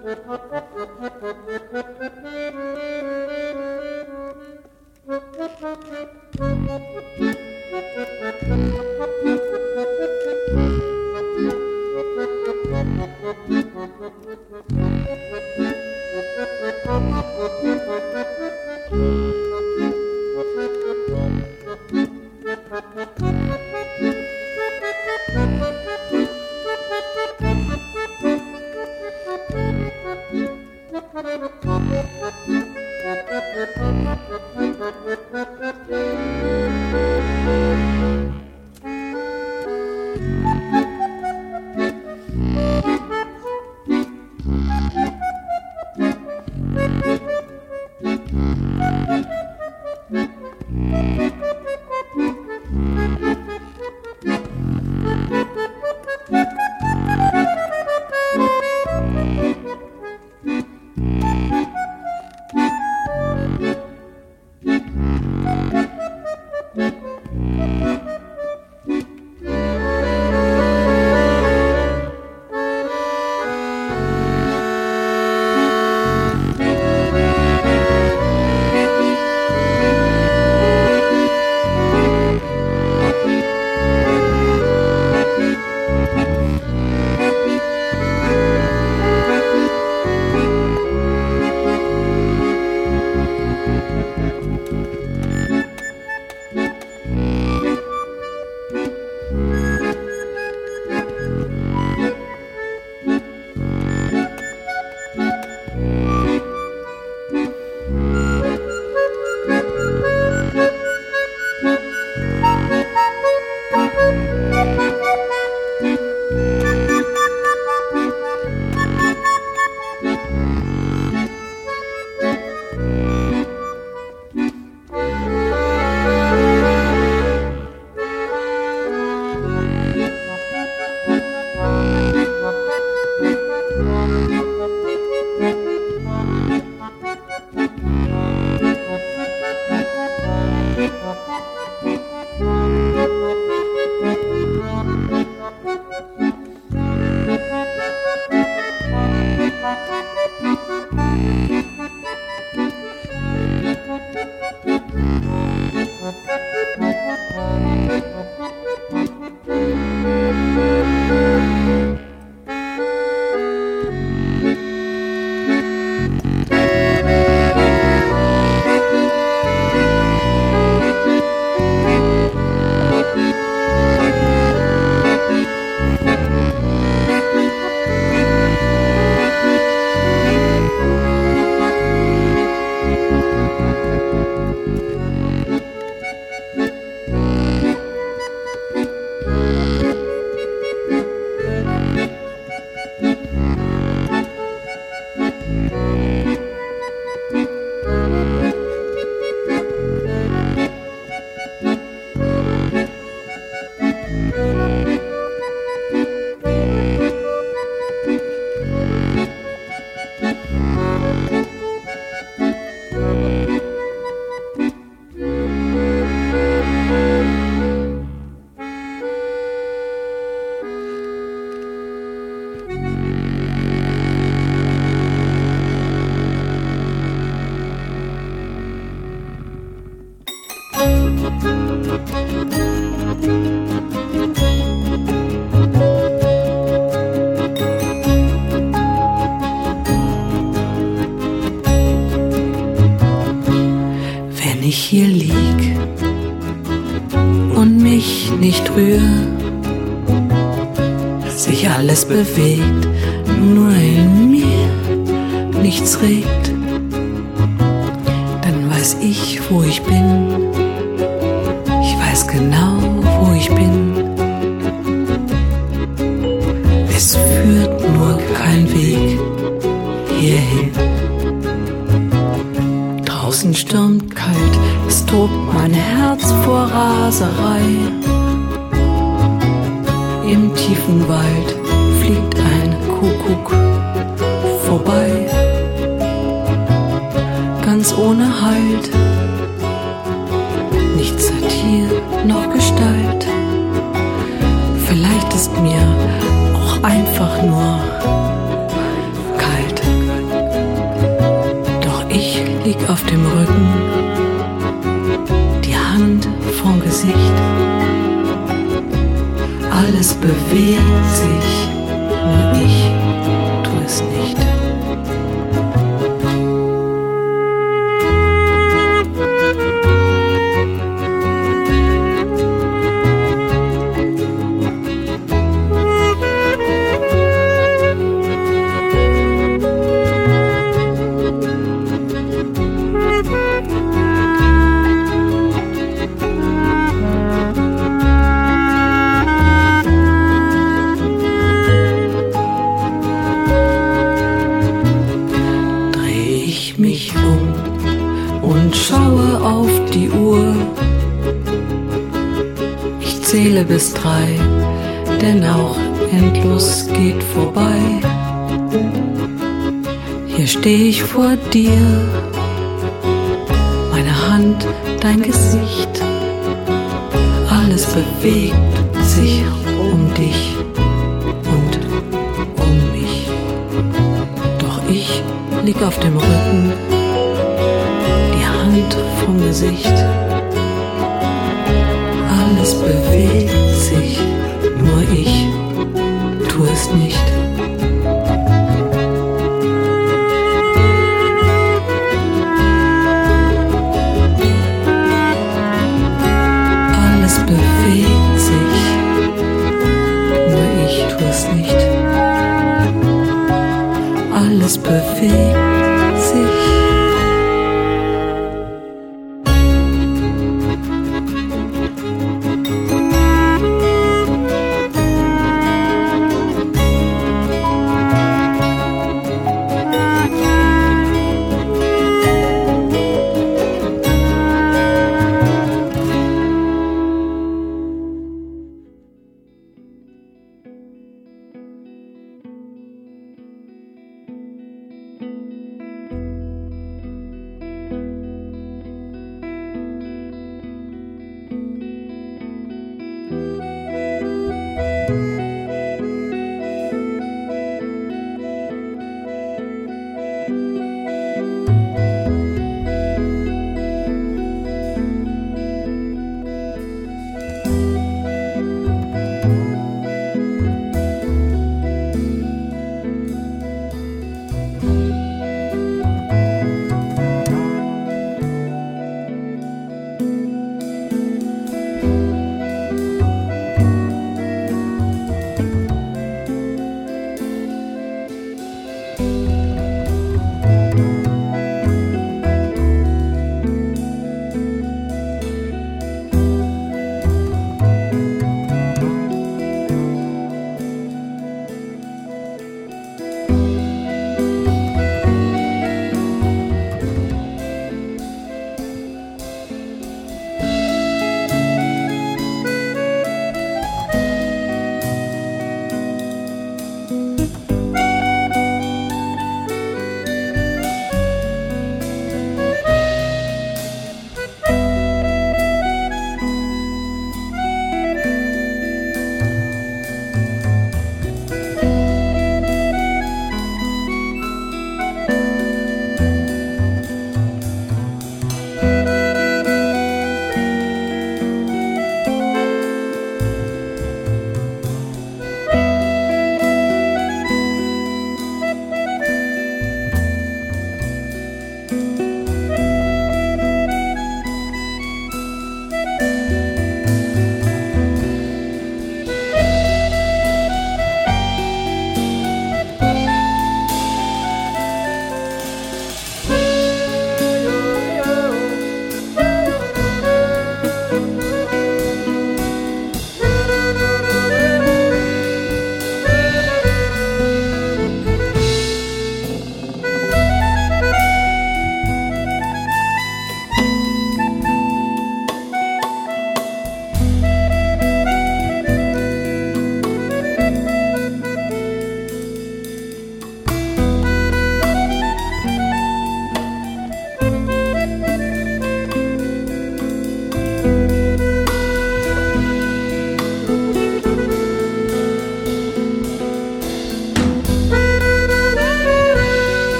ich hier lieg und mich nicht rühr, sich alles bewegt, nur in mir nichts regt, dann weiß ich, wo ich bin. Ich weiß genau, wo ich bin. Es führt nur kein Weg hierhin. Draußen stürmt kalt, es tobt mein Herz vor Raserei. Im tiefen Wald fliegt ein Kuckuck vorbei, ganz ohne Halt. Nichts hat hier noch Gestalt. Vielleicht ist mir auch einfach nur kalt. dem Rücken, die Hand vorm Gesicht. Alles bewegt sich, nur ich tu es nicht. Mich und schaue auf die Uhr. Ich zähle bis 3, denn auch endlos geht vorbei. Hier steh ich vor dir, meine Hand, dein Gesicht. Alles bewegt sich um dich und um mich. Doch ich lieg auf dem Rücken, die Hand vom Gesicht. Alles bewegt sich, nur ich tu es nicht. Alles bewegt sich, nur ich tu es nicht. Alles bewegt sich.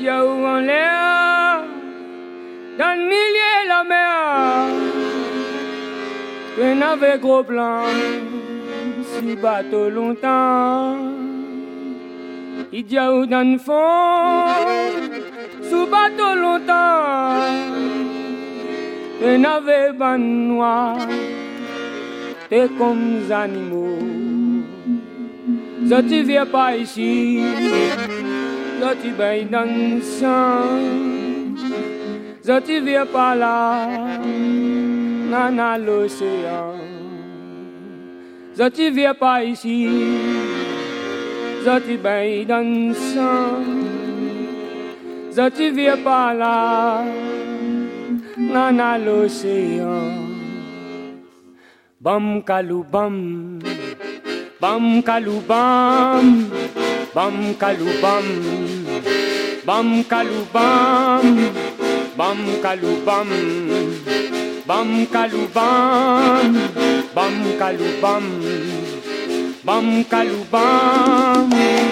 Dieu en l'air, dans le milieu de la mer, que n'avait gros plan, si bateau longtemps, il dit dans le fond, sous bateau longtemps, que n'avait ban noir, t'es comme des animaux. Je tu viens pas ici, je tu baignes dans le sang, je tu viens pas là, dans l'océan. Je tu viens pas ici, je tu baignes dans le sang, je tu viens pas là, dans l'océan. Bam kalou bam. Bam kalou bam, bam kalou bam, bam kalou bam, bam kalou bam, bam kalou bam, bam kalou bam, bam kalou bam.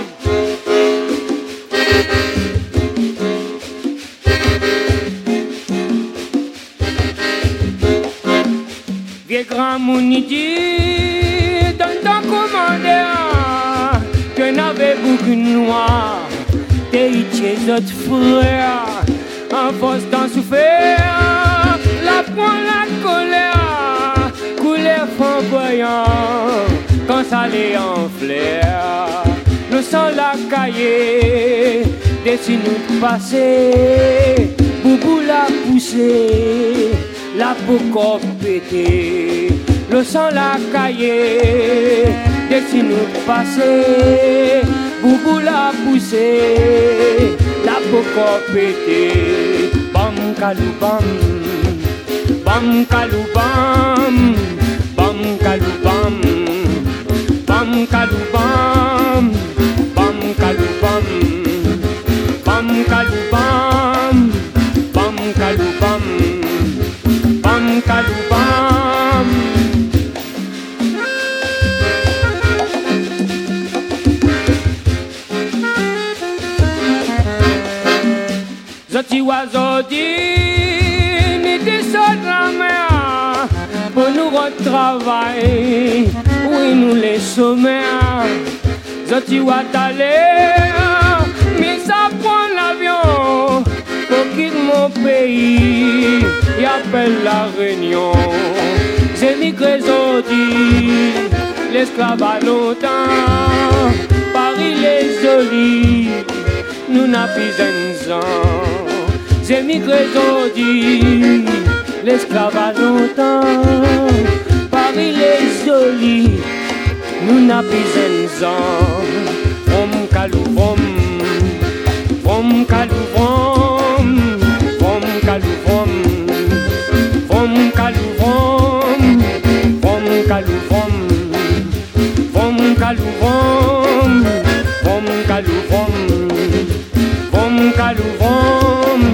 Vieux grand mounidi dans ton commandeur que n'avait beaucoup noir, t'es chez autres frères, en force d'en souffrir, la prend la colère, couleur flamboyant, quand ça les en flair, le sang la cahier, dessine-nous de passer, boubou la poussée, la peau corps pété. Le sang la cahier, dessine-nous de passer, boubou la poussée, la poco pété. Bam kalou bam, bam kalou bam, bam kalou bam, bam kalou bam, bam kalou bam, bam kalou bam, bam kalou bam, bam kalou bam. Zoti oiseau dit, ni descend la mer pour nous retravailler, oui nous les sommets. Zoti ouatalé, mais ça prend l'avion pour quitter mon pays, y appelle la Réunion. J'ai migré Zoti, l'esclave à longtemps, Paris les jolis, nous n'a plus un sang. J'ai migré Zodi, l'esclave à longtemps, Paris les jolis, nous n'a plus un sang. Vom kalou vom, vom kalou vom, vom kalou vom, vom kalou vom, vom kalou vom, vom kalou vom, vom kalou vom, vom kalou vom.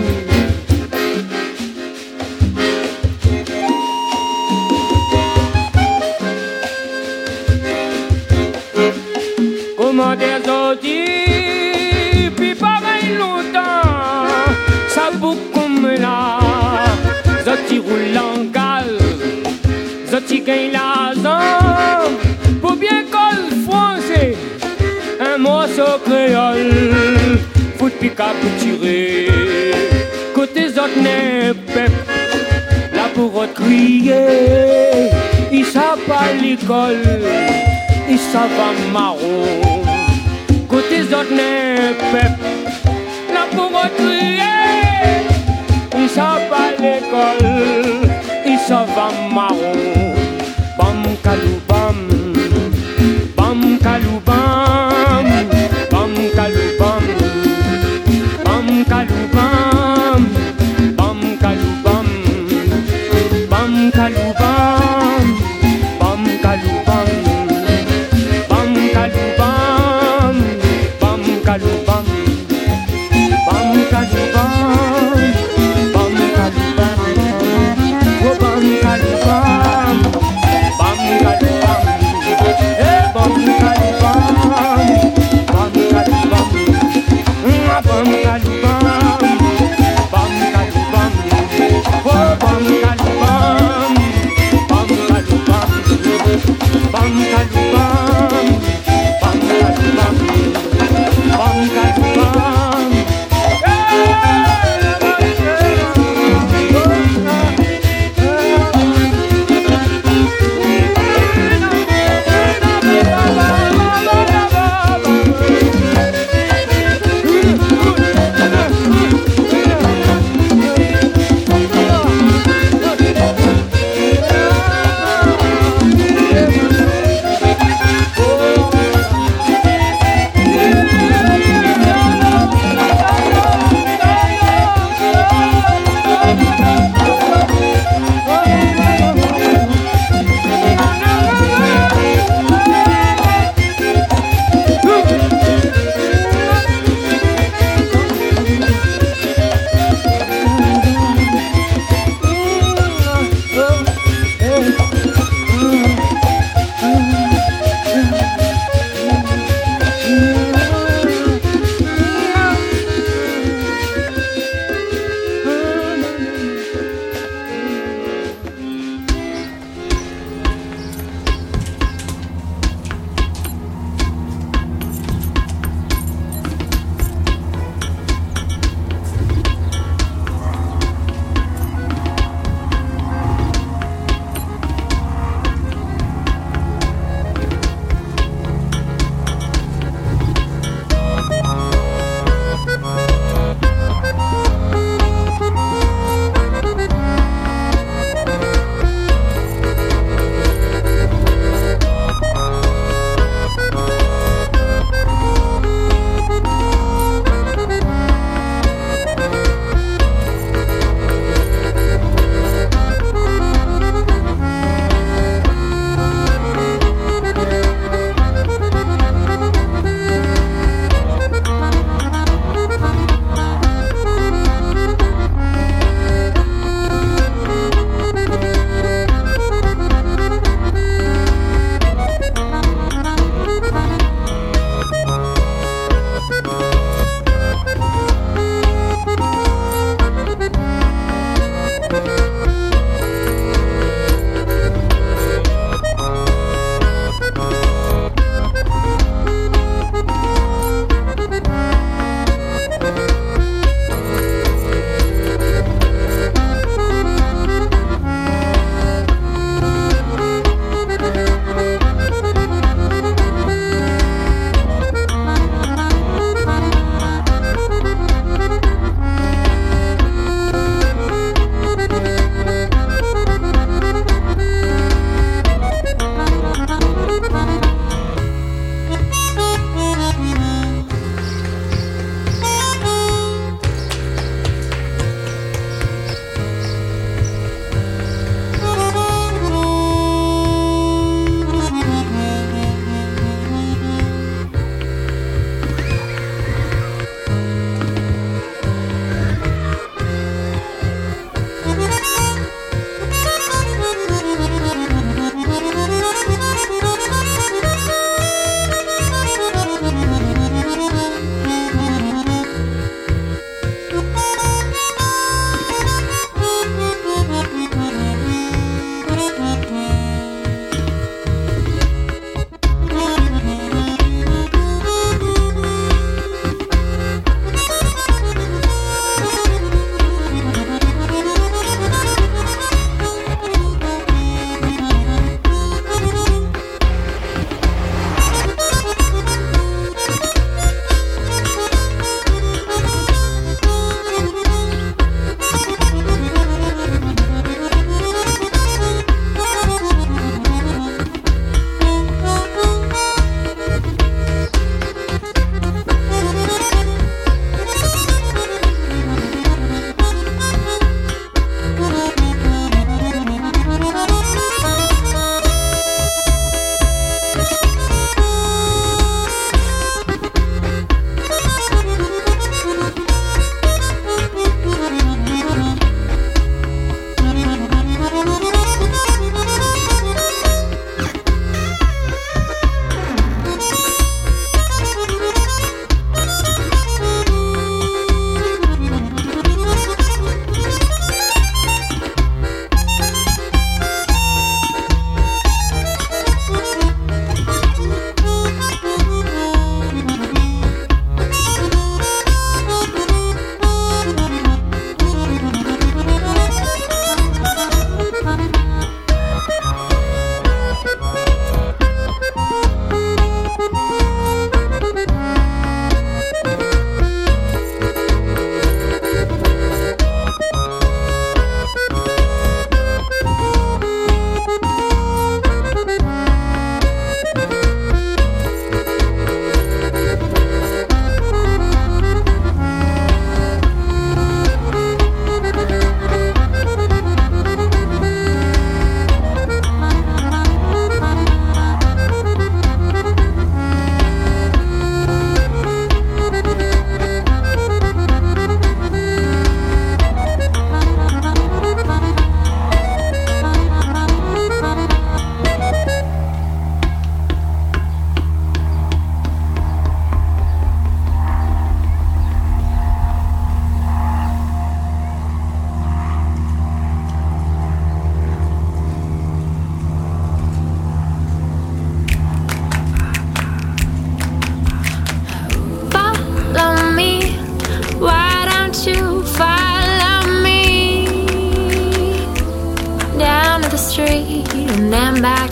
Comment des audits, puis pareil longtemps, ça boucle comme là, Zoti roule en gal, Zoti gagne l'argent, pour bien col français, un morceau créole, fout pique à tirer, côté Zot n'est pep, là pour crier, il savent pas l'école, il savent pas marron. Côté autres n'est pep, là pour crier, ils savent pas l'école, ils savent marron. Bam kalou bam, bam kalou bam, bam kalou bam, bam kalou bam, bam kalou bam, bam kalou bam, bam kalou bam, bam kalou bam. Bam kalou bam, bam kalou bam, bam kalou bam, oh bam kalou bam, bam kalou bam.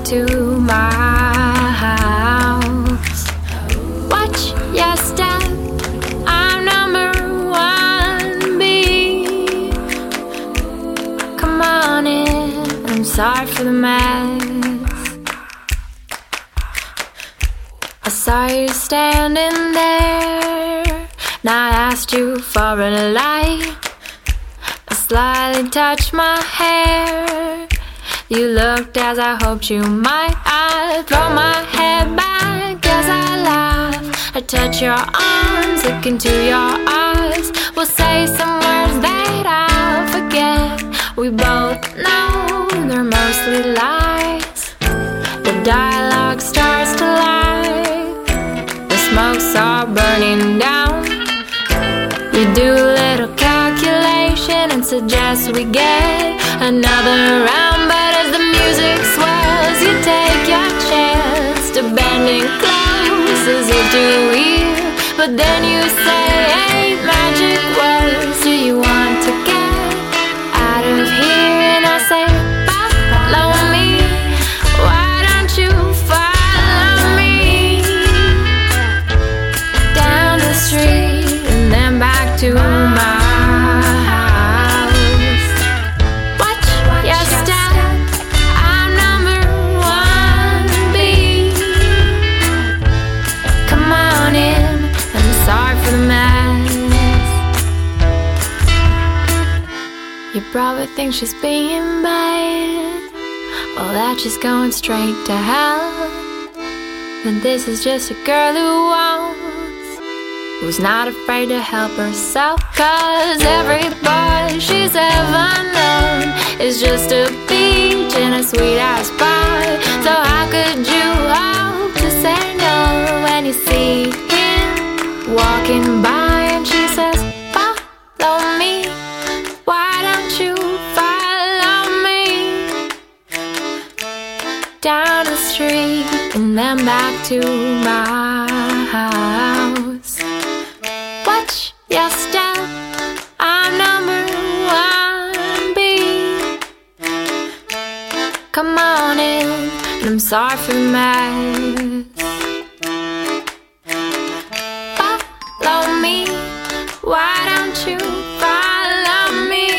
to my house. Watch your step, I'm number 1B. Come on in, I'm sorry for the mess. I saw you standing there, and I asked you for a light. I slightly touched my hair. You looked as I hoped you might. I throw my head back as I laugh. I touch your arms, look into your eyes. We'll say some words that I'll forget. We both know they're mostly lies. The dialogue starts to light. The smoke's all burning down. You do a little calculation and suggest we get another round. But as the music swells, you take your chance to bending close as if to hear. But then you say 8 magic words. Do you want to get out of here? And I say, follow me. Why don't you follow me down the street and then back to my house? Watch your step, I'm number 1B. Come on in, I'm sorry for the mess. You probably think she's being bad, well that she's going straight to hell. But this is just a girl who's not afraid to help herself. 'Cause every boy she's ever known is just a peach in a sweet-ass pie. So how could you hope to say no when you see him walking by and she says, follow me? Why don't you follow me down the street and then back to my house? Watch your step, I'm number 1B. Come on in, and I'm sorry for the mess. Follow me, why don't you follow me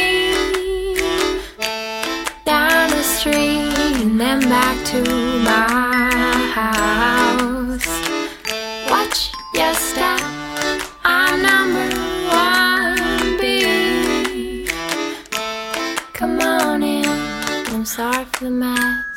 down the street and then back to my house? Watch your step, I'm number 1B. Come on in, I'm sorry for the mess.